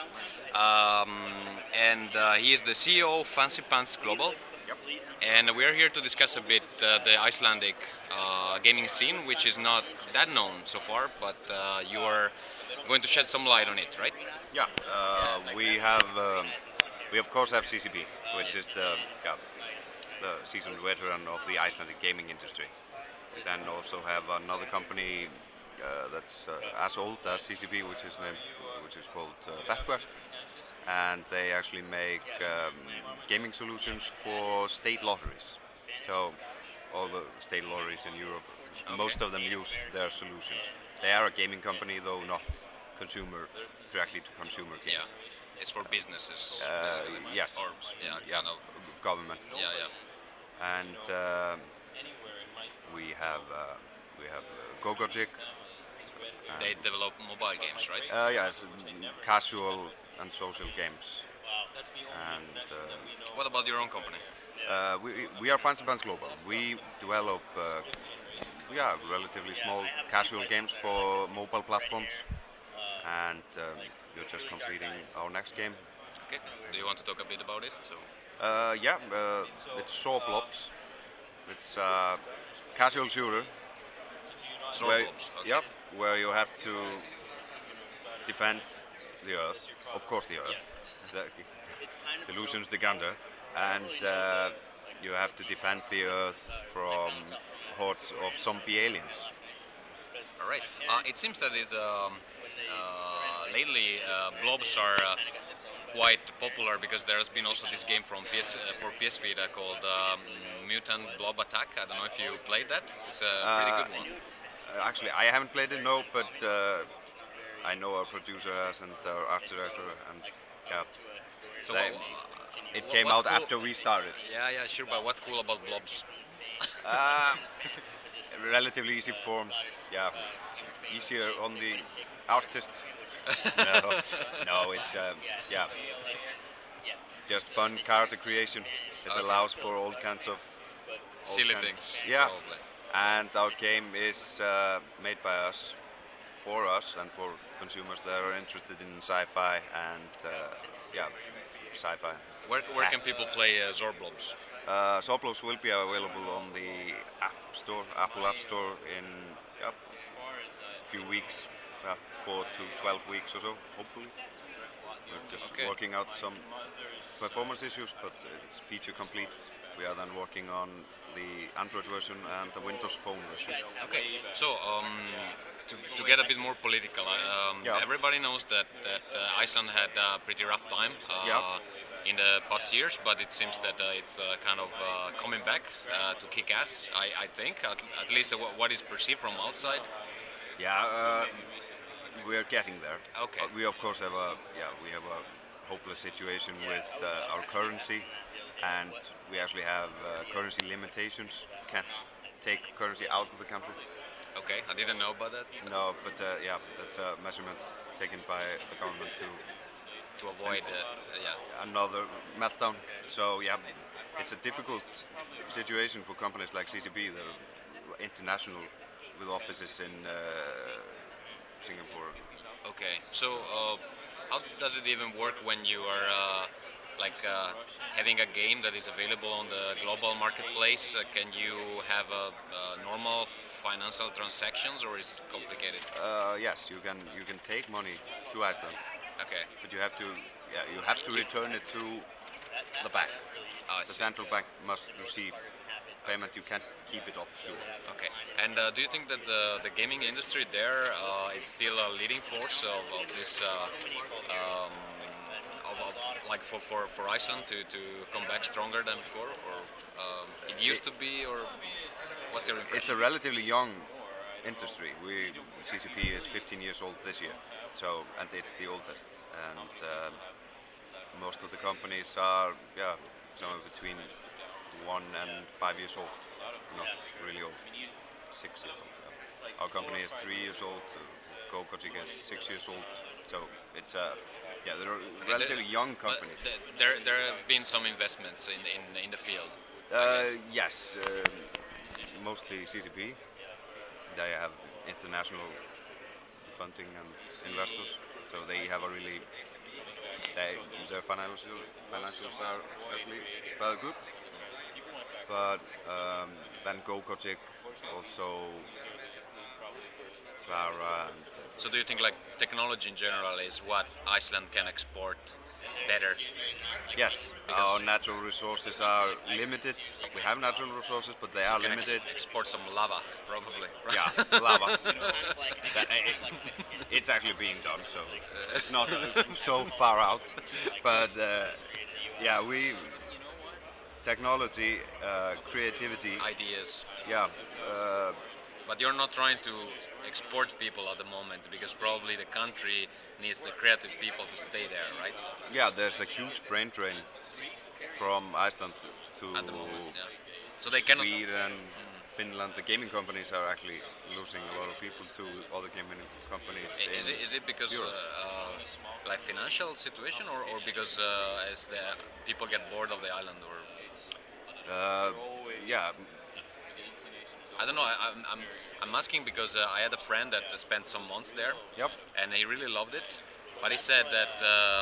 Speaker 1: And he is the CEO of Fancy Pants Global. And we're here to discuss a bit the Icelandic gaming scene, which is not that known so far, but you are going to shed some light on it, right?
Speaker 6: Yeah, we of course have CCP, which is the seasoned veteran of the Icelandic gaming industry. We then also have another company that's as old as CCP, which is called Betware, and they actually make gaming solutions for state lotteries. So all the state lotteries in Europe, most of them use their solutions. They are a gaming company, though not directly to consumer games.
Speaker 1: Yeah, it's for businesses.
Speaker 6: Yes.
Speaker 1: Or kind of.
Speaker 6: Government.
Speaker 1: Yeah.
Speaker 6: And we have Gogojik.
Speaker 1: They develop mobile games, right?
Speaker 6: Yes, casual and social games. And
Speaker 1: What about your own company?
Speaker 6: we are Fancy Pants Global. We develop relatively small casual games for mobile platforms, and we're just completing our next game.
Speaker 1: Okay. Do you want to talk a bit about it? So.
Speaker 6: It's Saw Blobs. It's a casual shooter.
Speaker 1: Saw
Speaker 6: where,
Speaker 1: Blobs, okay.
Speaker 6: Yep, where you have to defend the Earth, of course the Earth, the Lucians the Gander, and you have to defend the Earth from hordes of zombie aliens.
Speaker 1: All right. It seems that lately blobs are quite popular because there has been also this game for PS Vita called Mutant Blob Attack. I don't know if you played that. It's a pretty good one.
Speaker 6: Actually, I haven't played it, no, but I know our producer has and our art director, and
Speaker 1: So
Speaker 6: it came out after we started.
Speaker 1: Yeah, sure. But what's cool about blobs?
Speaker 6: relatively easy form. Yeah, it's easier on the artists. No, it's yeah, just fun character creation. It allows for all kinds of
Speaker 1: Silly things.
Speaker 6: Yeah,
Speaker 1: Probably.
Speaker 6: and our game is made by us, for us, and for consumers that are interested in sci-fi and yeah, sci-fi.
Speaker 1: Where can people play Zorblobs?
Speaker 6: Zorblobs will be available on the Apple App Store in a few weeks, 4 to 12 weeks or so, hopefully. We're just working out some performance issues, but it's feature complete. We are then working on the Android version and the Windows Phone version.
Speaker 1: Okay, so to get a bit more political, everybody knows that Iceland had a pretty rough time in the past years, but it seems that it's kind of coming back to kick ass. I think, at least what is perceived from outside.
Speaker 6: Yeah, we're getting there.
Speaker 1: Okay.
Speaker 6: We of course have a hopeless situation with our currency, and we actually have currency limitations. Can't take currency out of the country.
Speaker 1: Okay, I didn't know about that.
Speaker 6: No, but yeah, that's a measurement taken by the government
Speaker 1: To avoid,
Speaker 6: another meltdown. So yeah, it's a difficult situation for companies like CCP that are international with offices in Singapore.
Speaker 1: Okay, so how does it even work when you are having a game that is available on the global marketplace? Can you have normal financial transactions, or is it complicated?
Speaker 6: Yes, you can take money to Iceland.
Speaker 1: Okay.
Speaker 6: But you have to return it to the bank. The central bank must receive payment. You can't keep it offshore.
Speaker 1: Okay. And do you think that the gaming industry there is still a leading force of this, like for Iceland to come back stronger than before, or it used to be, or what's your impression?
Speaker 6: It's a relatively young industry. CCP is 15 years old this year, and it's the oldest. And most of the companies are somewhere between 1 and 5 years old. Not really old. 6 years old. Our company is 3 years old. GoKojic is 6 years old. So it's they're relatively young companies.
Speaker 1: There have been some investments in the field.
Speaker 6: Yes, mostly CCP. They have international funding and investors, so they have a really their financials are actually rather good. But then GoKojic, also Clara. And,
Speaker 1: so do you think like technology in general is what Iceland can export better?
Speaker 6: Yes, our natural resources are limited. We have natural resources, but they are limited.
Speaker 1: Export some lava, probably.
Speaker 6: Yeah, lava. It's actually being done, so it's not so far out. But technology, creativity,
Speaker 1: ideas.
Speaker 6: Yeah.
Speaker 1: But you're not trying to export people at the moment, because probably the country needs the creative people to stay there, right?
Speaker 6: Yeah, there's a huge brain drain from Iceland to
Speaker 1: at the moment, yeah. So they cannot.
Speaker 6: Sweden, Finland. The gaming companies are actually losing a lot of people to other gaming companies.
Speaker 1: Is it because like financial situation, or because as the people get bored of the island, or?
Speaker 6: Yeah.
Speaker 1: I don't know. I'm asking because I had a friend that spent some months there.
Speaker 6: Yep.
Speaker 1: And he really loved it. But he said that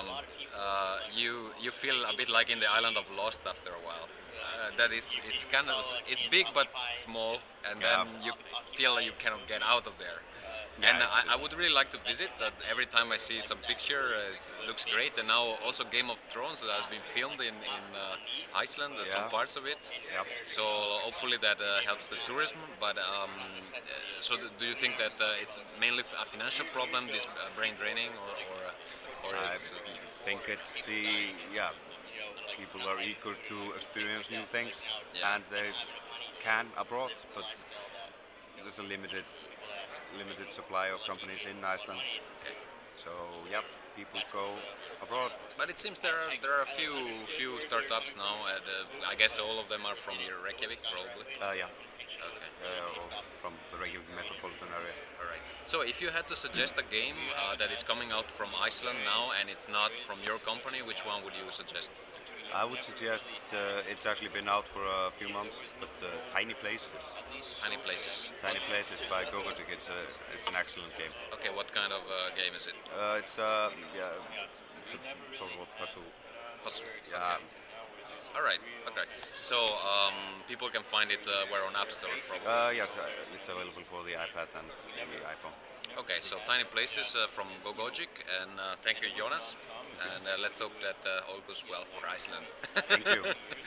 Speaker 1: you feel a bit like in the island of Lost after a while. That it's kind of big but small, and then you feel like you cannot get out of there. Yeah, and I would really like to visit. That every time I see some picture, it looks great. And now also Game of Thrones has been filmed in Iceland, some parts of it.
Speaker 6: Yep.
Speaker 1: So hopefully that helps the tourism. But so do you think that it's mainly a financial problem, this brain draining, or
Speaker 6: I think it's people are eager to experience new things, and they can abroad, but there's a limited supply of companies in Iceland.
Speaker 1: Okay.
Speaker 6: So people go abroad.
Speaker 1: But it seems there are a few startups now. I guess all of them are from here, Reykjavik, probably.
Speaker 6: Yeah. or from the Reykjavik metropolitan area.
Speaker 1: All right. So if you had to suggest a game that is coming out from Iceland now and it's not from your company, which one would you suggest?
Speaker 6: I would suggest it's actually been out for a few months, but Tiny Places.
Speaker 1: Tiny Places.
Speaker 6: Tiny Places by Gogotic. It's an excellent game.
Speaker 1: Okay, what kind of game is it?
Speaker 6: It's a sort of a puzzle.
Speaker 1: Puzzle.
Speaker 6: Yeah.
Speaker 1: Okay. All right. Okay. So people can find it where on App Store probably.
Speaker 6: Yes, it's available for the iPad and the iPhone.
Speaker 1: Okay, so Tiny Places from Gogogic, and thank you, Jonas. And let's hope that all goes well for Iceland.
Speaker 6: Thank you.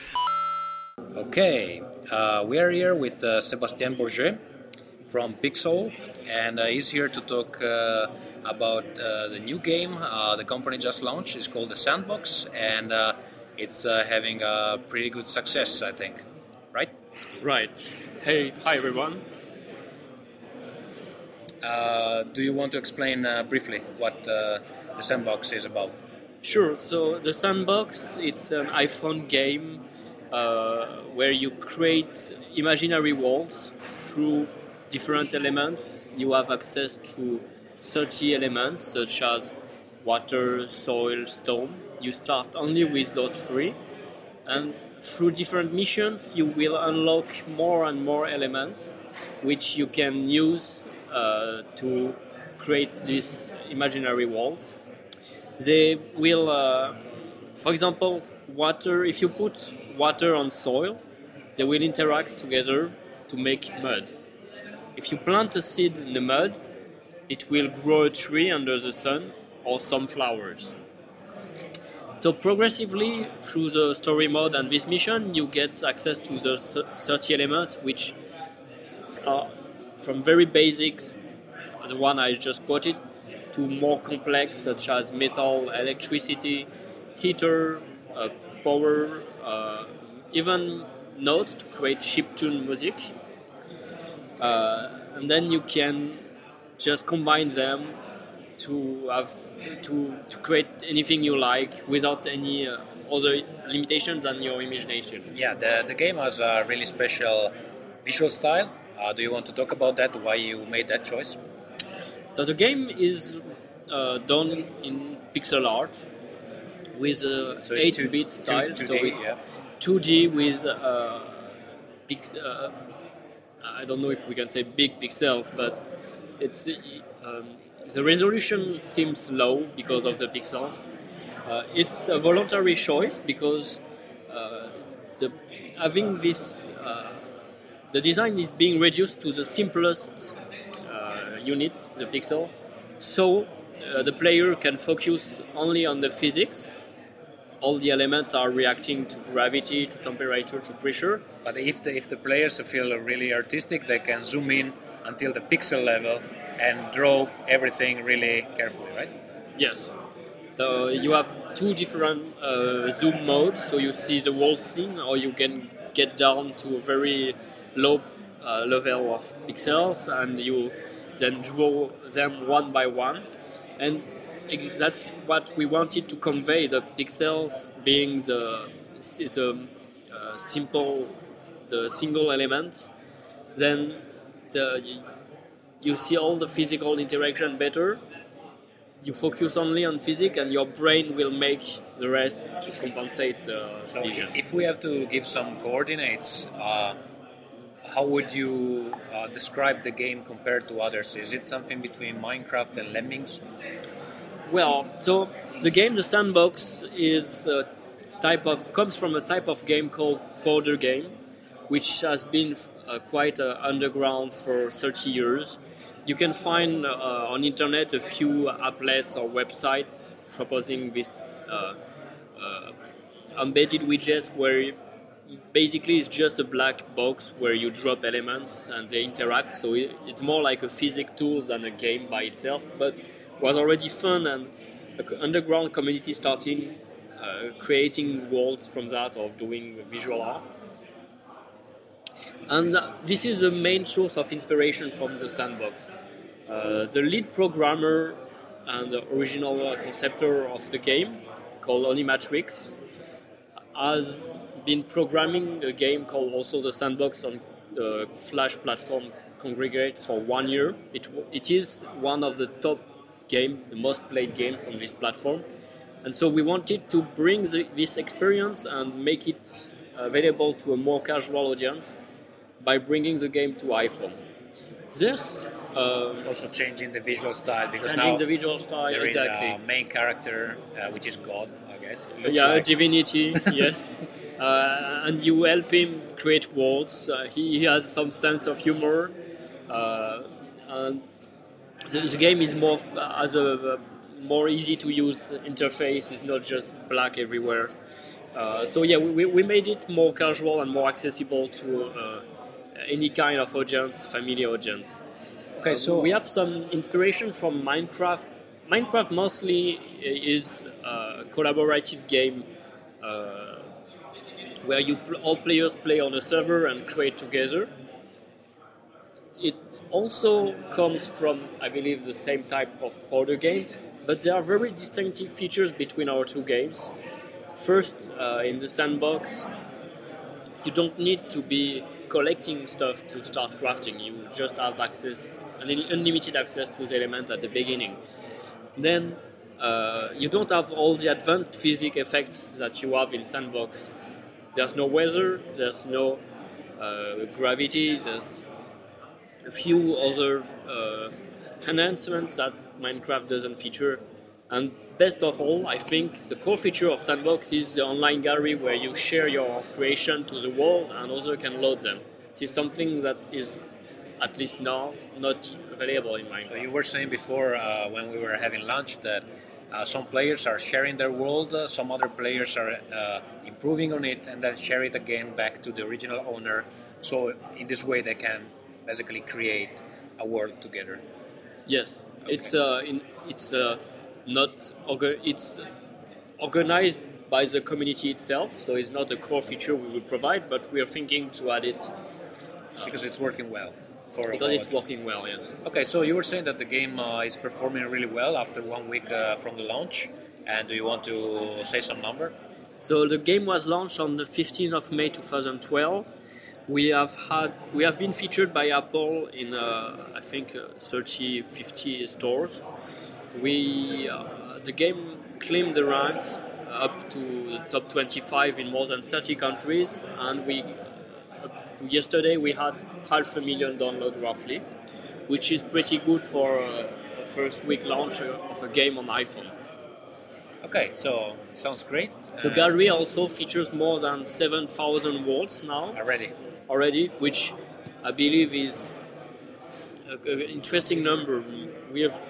Speaker 3: Okay, we are here with Sébastien Bourget from Pixel, and he's here to talk about the new game the company just launched. It's called The Sandbox, and it's having a pretty good success, I think. Right?
Speaker 7: Right. Hey, hi everyone.
Speaker 3: Do you want to explain briefly what The Sandbox is about?
Speaker 7: Sure. So The Sandbox, it's an iPhone game where you create imaginary worlds through different elements. You have access to 30 elements such as water, soil, stone. You start only with those three, and through different missions you will unlock more and more elements which you can use to create these imaginary worlds. They will, for example, water. If you put water on soil, they will interact together to make mud. If you plant a seed in the mud, it will grow a tree under the sun or some flowers. So progressively, through the story mode and this mission, you get access to the 30 elements, which are from very basic, the one I just quoted, to more complex, such as metal, electricity, heater, power, even notes to create chiptune music. And then you can just combine them to have to create anything you like without any other limitations than your imagination.
Speaker 3: Yeah, the game has a really special visual style. Do you want to talk about that, why you made that choice?
Speaker 7: So the game is done in pixel art with a 8-bit style.
Speaker 3: 2D,
Speaker 7: so it's
Speaker 3: yeah.
Speaker 7: 2D with I don't know if we can say big pixels, but it's the resolution seems low because of the pixels. It's a voluntary choice because having this the design is being reduced to the simplest unit, the pixel, so the player can focus only on the physics. All the elements are reacting to gravity, to temperature, to pressure.
Speaker 3: But if the players feel really artistic, they can zoom in until the pixel level and draw everything really carefully, right?
Speaker 7: Yes. So you have two different zoom modes, so you see the whole scene, or you can get down to a very low level of pixels, and you then draw them one by one. And that's what we wanted to convey, the pixels being the single element. Then you see all the physical interaction better. You focus only on physics, and your brain will make the rest to compensate the vision.
Speaker 3: If we have to give some coordinates, how would you describe the game compared to others? Is it something between Minecraft and Lemmings?
Speaker 7: Well, so the game, The Sandbox, is comes from a type of game called border game, which has been quite underground for 30 years. You can find on internet a few applets or websites proposing this embedded widgets where basically it's just a black box where you drop elements and they interact. So it's more like a physics tool than a game by itself, but was already fun, and an underground community starting creating worlds from that or doing visual art. And this is the main source of inspiration from The Sandbox. The lead programmer and the original conceptor of the game, called Onimatrix, has been programming a game called also The Sandbox on Flash platform congregate for 1 year. It is one of the top game, the most played games on this platform, and so we wanted to bring this experience and make it available to a more casual audience by bringing the game to iPhone. This
Speaker 3: Also changing the visual style, because
Speaker 7: changing
Speaker 3: now
Speaker 7: the visual style,
Speaker 3: there is
Speaker 7: exactly.
Speaker 3: a main character, which is God, I guess. It looks
Speaker 7: Yeah,
Speaker 3: like.
Speaker 7: divinity, yes. And you help him create worlds. He has some sense of humor. And the game is more has a more easy to use interface. It's not just black everywhere. So yeah, we made it more casual and more accessible to any kind of audience, family audience.
Speaker 3: Okay, so
Speaker 7: We have some inspiration from Minecraft. Minecraft mostly is a collaborative game where all players play on a server and create together. It also comes from, I believe, the same type of order game, but there are very distinctive features between our two games. First, in the sandbox, you don't need to be collecting stuff to start crafting. You just have unlimited access to the element at the beginning. Then you don't have all the advanced physics effects that you have in sandbox. There's no weather, there's no gravity, there's a few other enhancements that Minecraft doesn't feature. And best of all, I think the core feature of Sandbox is the online gallery where you share your creation to the world and others can load them. This is something that is, at least now, not available in Minecraft.
Speaker 3: So you were saying before, when we were having lunch, that some players are sharing their world, some other players are improving on it and then share it again back to the original owner. So in this way they can basically create a world together.
Speaker 7: Yes, it's organized by the community itself, so it's not a core feature we will provide, but we are thinking to add it
Speaker 3: Because it's working well.
Speaker 7: because it's working well. Yes.
Speaker 3: Okay, so you were saying that the game is performing really well after 1 week from the launch. And do you want to say some number?
Speaker 7: So the game was launched on the 15th of May 2012. We have been featured by Apple in I think 30-50 stores. The game climbed the ranks up to the top 25 in more than 30 countries, and yesterday we had 500,000 downloads roughly, which is pretty good for a first week launch of a game on iPhone.
Speaker 3: Okay, so sounds great.
Speaker 7: The gallery also features more than 7,000 worlds now already, which I believe is an interesting number. We have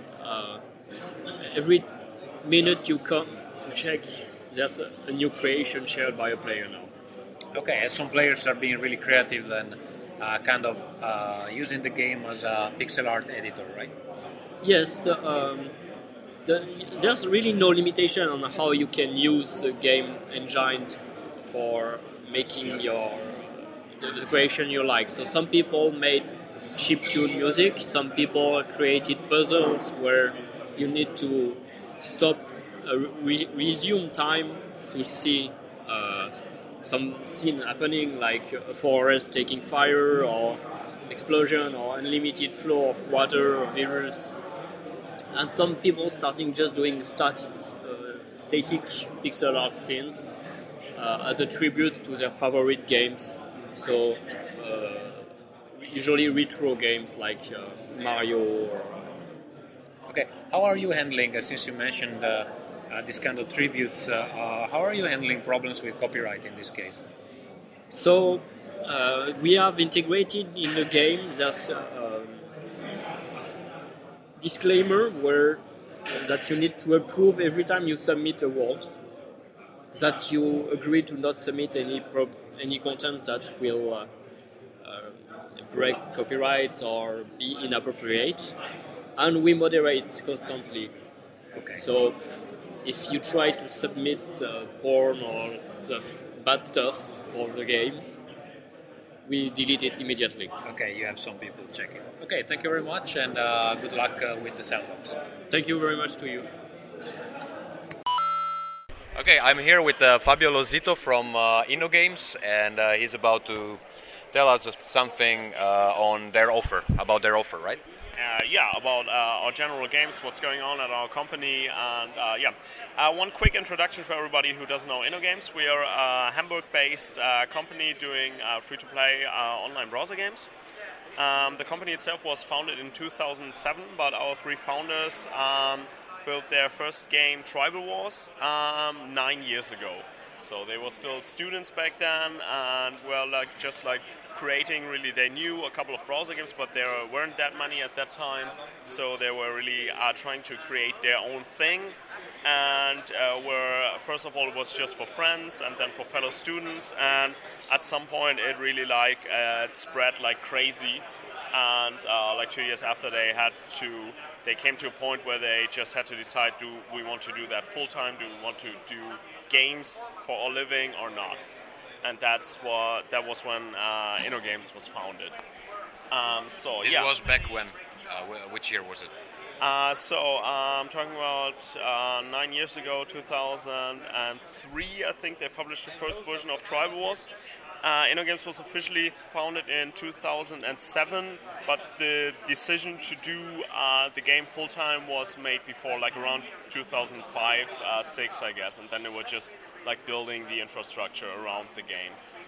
Speaker 7: every minute you come to check, there's a new creation shared by a player now.
Speaker 3: Okay, as some players are being really creative and kind of using the game as a pixel art editor, right?
Speaker 7: Yes, there's really no limitation on how you can use the game engine for making the creation you like. So some people made chiptune music, some people created puzzles where you need to stop, resume time to see some scene happening, like a forest taking fire or explosion or unlimited flow of water or rivers. And some people starting just doing static pixel art scenes as a tribute to their favorite games. So usually retro games like Mario.
Speaker 3: Okay, how are you handling, since you mentioned this kind of tributes, how are you handling problems with copyright in this case?
Speaker 7: So we have integrated in the game there's disclaimer that you need to approve every time you submit a world, that you agree to not submit any content that will break copyrights or be inappropriate, and we moderate constantly.
Speaker 3: Okay.
Speaker 7: So if you try to submit porn or bad stuff for the game, we delete it immediately.
Speaker 3: Okay, you have some people checking. Okay, thank you very much, and good luck with the sandbox.
Speaker 7: Thank you very much to you.
Speaker 1: Okay, I'm here with Fabio Lozito from InnoGames, and he's about to tell us something on their offer, about their offer, right?
Speaker 8: About our general games, what's going on at our company, and one quick introduction for everybody who doesn't know InnoGames. We are a Hamburg-based company doing free-to-play online browser games. The company itself was founded in 2007, but our three founders built their first game, Tribal Wars, 9 years ago. So they were still students back then, and just creating, really, they knew a couple of browser games, but there weren't that many at that time, so they were really trying to create their own thing, and first of all, it was just for friends, and then for fellow students, and at some point it really it spread like crazy, and 2 years after they came to a point where they just had to decide, do we want to do that full-time, do we want to do games for our living or not? And that was when InnoGames was founded.
Speaker 1: This was back when? Which year was it?
Speaker 8: I'm talking about 9 years ago, 2003. I think they published the first version of Tribal Wars. InnoGames was officially founded in 2007, but the decision to do the game full time was made before, around 2005, 6, I guess, and then they were just building the infrastructure around the game.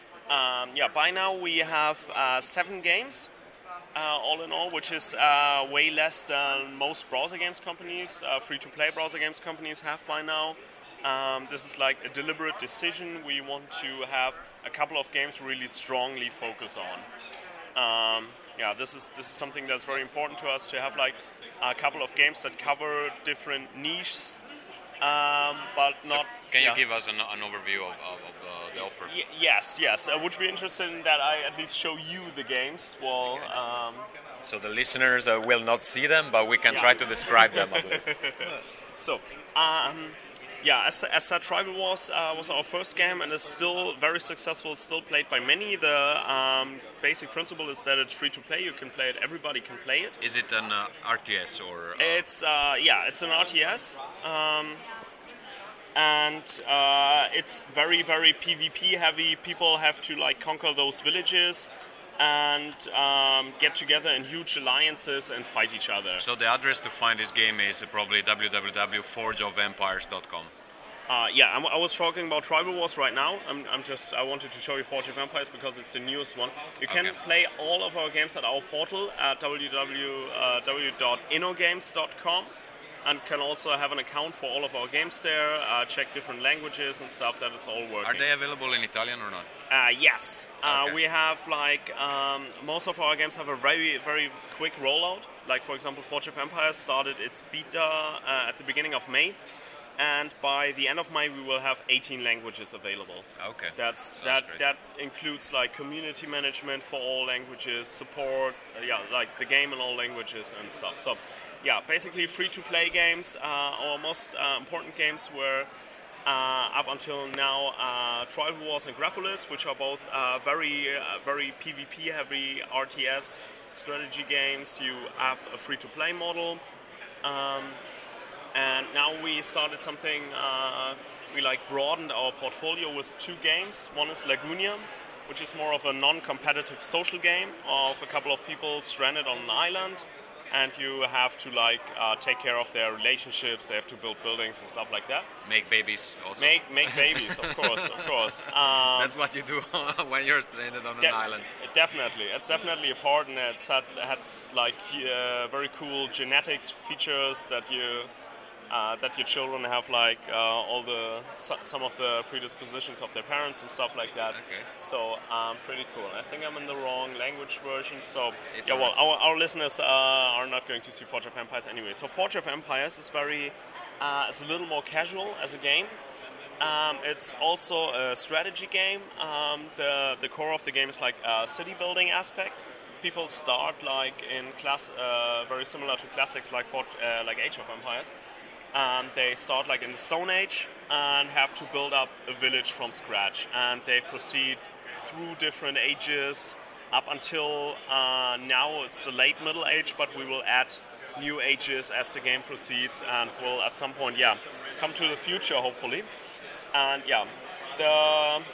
Speaker 8: By now we have 7 games, all in all, which is way less than most browser games companies, free-to-play browser games companies have by now. This is a deliberate decision. We want to have a couple of games really strongly focus on. This is something that's very important to us, to have a couple of games that cover different niches, but not.
Speaker 1: Can you give us an overview of the offer?
Speaker 8: Yes. Would you be interested in that I at least show you the games? Well,
Speaker 1: so the listeners will not see them, but we can try to describe them at least.
Speaker 8: So, as said, Tribal Wars was our first game and is still very successful. It's still played by many. The basic principle is that it's free to play. You can play it. Everybody can play it.
Speaker 1: Is it an RTS or?
Speaker 8: It's an RTS. And it's very, very PvP heavy. People have to conquer those villages and get together in huge alliances and fight each other.
Speaker 1: So the address to find this game is probably www.forgeofempires.com.
Speaker 8: I was talking about Tribal Wars right now. I wanted to show you Forge of Empires because it's the newest one. You can play all of our games at our portal at www.innogames.com. And can also have an account for all of our games there, check different languages and stuff, that is all working.
Speaker 1: Are they available in Italian or not?
Speaker 8: Yes. We have most of our games have a very, very quick rollout. For example, Forge of Empires started its beta at the beginning of May. And by the end of May, we will have 18 languages available.
Speaker 1: Okay.
Speaker 8: That includes community management for all languages, support, the game in all languages and stuff. So, basically free-to-play games. Our most important games were up until now Tribal Wars and Grapolis, which are both very PvP-heavy RTS strategy games. You have a free-to-play model. And now we started something, we broadened our portfolio with 2 games. One is Lagunia, which is more of a non-competitive social game of a couple of people stranded on an island. And you have to take care of their relationships. They have to build buildings and stuff like that.
Speaker 1: Make babies also.
Speaker 8: Make babies, of course.
Speaker 1: That's what you do when you're stranded on an island.
Speaker 8: Definitely, it's definitely a part, and it has very cool genetics features that your children have some of the predispositions of their parents and stuff like that.
Speaker 1: Okay.
Speaker 8: So pretty cool. I think I'm in the wrong language version. So our listeners are not going to see Forge of Empires anyway. So Forge of Empires is it's a little more casual as a game. It's also a strategy game. The core of the game is a city building aspect. People start in class, very similar to classics like Age of Empires. They start in the Stone Age and have to build up a village from scratch, and they proceed through different ages up until now it's the late Middle Age, but we will add new ages as the game proceeds, and will at some point come to the future hopefully. And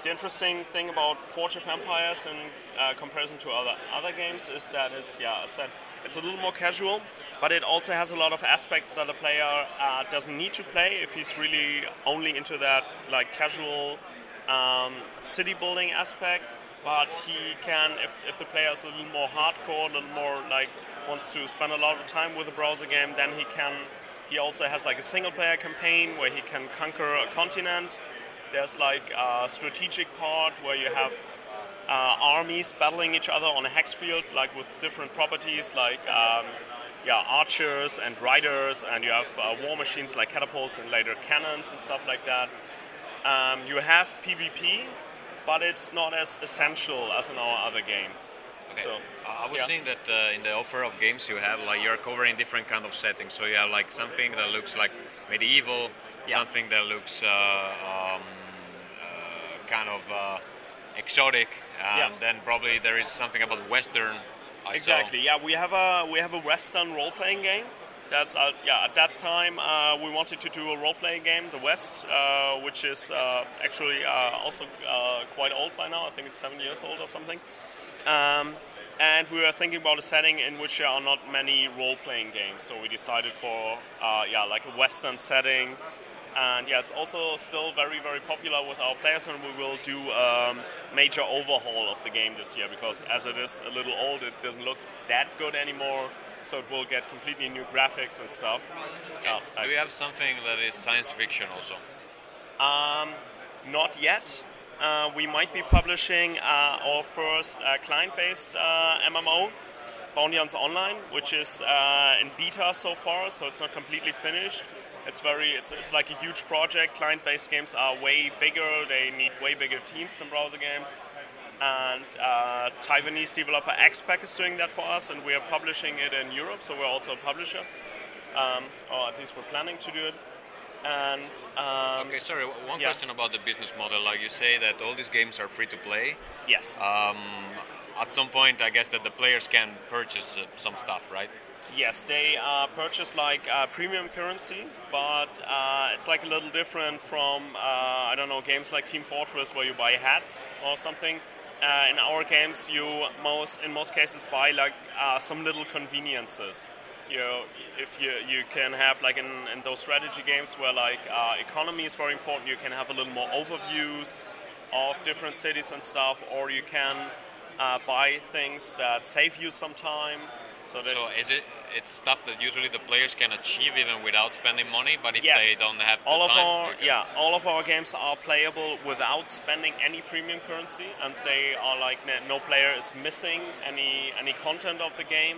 Speaker 8: the interesting thing about Forge of Empires in comparison to other games is that it's, as said, it's a little more casual, but it also has a lot of aspects that a player doesn't need to play if he's really only into that like casual city building aspect. But he can, if the player is a little more hardcore, a little more like wants to spend a lot of time with a browser game, then he also has like a single player campaign where he can conquer a continent. There's like a strategic part where you have armies battling each other on a hex field, like with different properties like archers and riders, and you have war machines like catapults and later cannons and stuff like that. You have PvP, but it's not as essential as in our other games.
Speaker 1: Okay.
Speaker 8: So
Speaker 1: I was seeing that in the offer of games you have, like you're covering different kind of settings. So you have like something that looks like medieval, something that looks kind of exotic, and then probably there is something about Western.
Speaker 8: Exactly. Yeah, we have a Western role-playing game. That's at that time we wanted to do a role-playing game, The West, which is actually also quite old by now. I think it's 7 years old or something. And we were thinking about a setting in which there are not many role-playing games, so we decided for like a Western setting. And it's also still very, very popular with our players, and we will do a major overhaul of the game this year, because as it is a little old, it doesn't look that good anymore, so it will get completely new graphics and stuff.
Speaker 1: Do you have something that is science fiction also?
Speaker 8: Not yet. We might be publishing our first client-based MMO, Bounty Hunter Online, which is in beta so far, so it's not completely finished. It's like a huge project. Client-based games are way bigger. They need way bigger teams than browser games. And Taiwanese developer XPack is doing that for us, and we are publishing it in Europe, so we're also a publisher. Or at least we're planning to do it. And
Speaker 1: okay, sorry, one question about the business model. Like you say that all these games are free to play.
Speaker 8: Yes.
Speaker 1: At some point, I guess that the players can purchase some stuff, right?
Speaker 8: Yes, they purchase like premium currency, but it's like a little different from games like Team Fortress where you buy hats or something. In our games, you in most cases buy like some little conveniences. You can have like in those strategy games where like economy is very important, you can have a little more overviews of different cities and stuff, or you can buy things that save you some time. So it's stuff that usually the players can achieve even without spending money, but if they don't have the time... all of our games are playable without spending any premium currency, and they are like no player is missing any content of the game.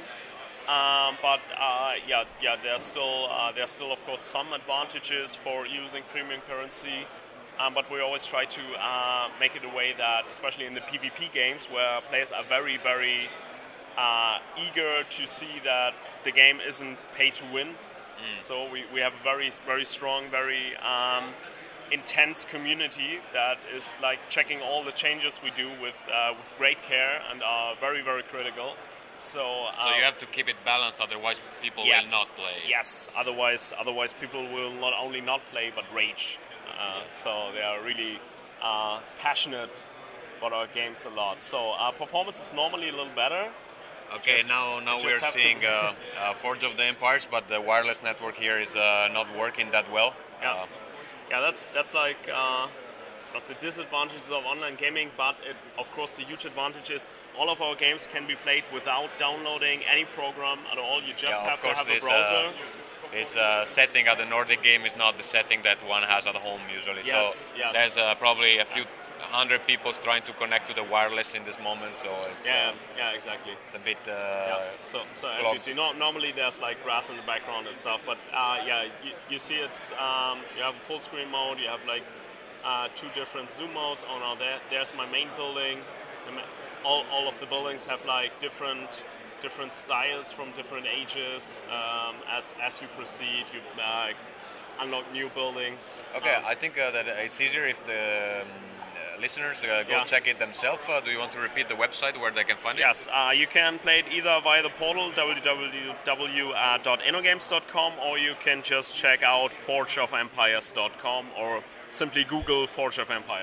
Speaker 8: There's still of course some advantages for using premium currency, but we always try to make it a way that, especially in the PvP games, where players are very, very eager to see that the game isn't pay to win. So we have a very, very strong, very intense community that is like checking all the changes we do with great care and are very, very critical. So
Speaker 1: you have to keep it balanced, otherwise people will not play.
Speaker 8: Yes, otherwise people will not only not play but rage. So they are really passionate about our games a lot. So performance is normally a little better.
Speaker 1: Okay, now we're seeing Forge of the Empires, but the wireless network here is not working that well.
Speaker 8: That's like the disadvantages of online gaming, but of course the huge advantage is all of our games can be played without downloading any program at all. You just have to have a browser.
Speaker 1: This setting at the Nordic game is not the setting that one has at home usually.
Speaker 8: Yes.
Speaker 1: There's probably a few 100 people trying to connect to the wireless in this moment, so it's
Speaker 8: exactly.
Speaker 1: It's a bit
Speaker 8: So as you see, normally there's like grass in the background and stuff, but you see it's you have a full screen mode, you have like 2 different zoom modes. There's my main building. All of the buildings have like different styles from different ages. As you proceed, you unlock new buildings.
Speaker 1: Okay, I think that it's easier if the listeners go check it themselves. Do you want to repeat the website where they can find it?
Speaker 8: Yes, you can play it either via the portal www.innogames.com, or you can just check out forgeofempires.com or simply Google Forge of Empires.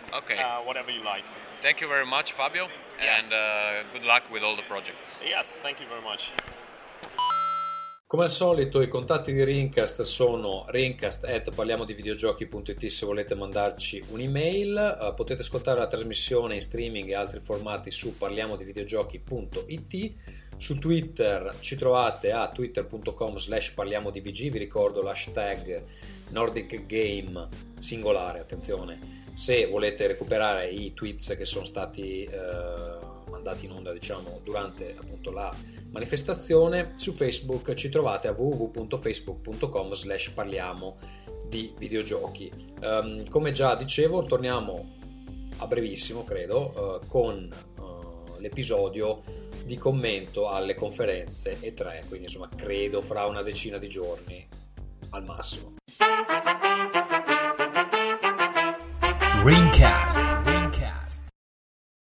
Speaker 1: Okay.
Speaker 8: Whatever you like.
Speaker 1: Thank you very much, Fabio,
Speaker 8: Yes.
Speaker 1: and good luck with all the projects.
Speaker 8: Yes, thank you very much.
Speaker 3: Come al solito i contatti di Rincast sono rincast@parliamodivideogiochi.it se volete mandarci un'email. Potete ascoltare la trasmissione in streaming e altri formati su parliamodivideogiochi.it. Su Twitter ci trovate a twitter.com/parliamodivg. Vi ricordo l'hashtag Nordic Game singolare, attenzione, se volete recuperare i tweets che sono stati mandati in onda, diciamo, durante appunto la manifestazione. Su Facebook ci trovate a www.facebook.com/parliamo di videogiochi. Come già dicevo, torniamo a brevissimo, credo, con l'episodio di commento alle conferenze E3, quindi insomma credo fra una decina di giorni al massimo.
Speaker 9: Rincast.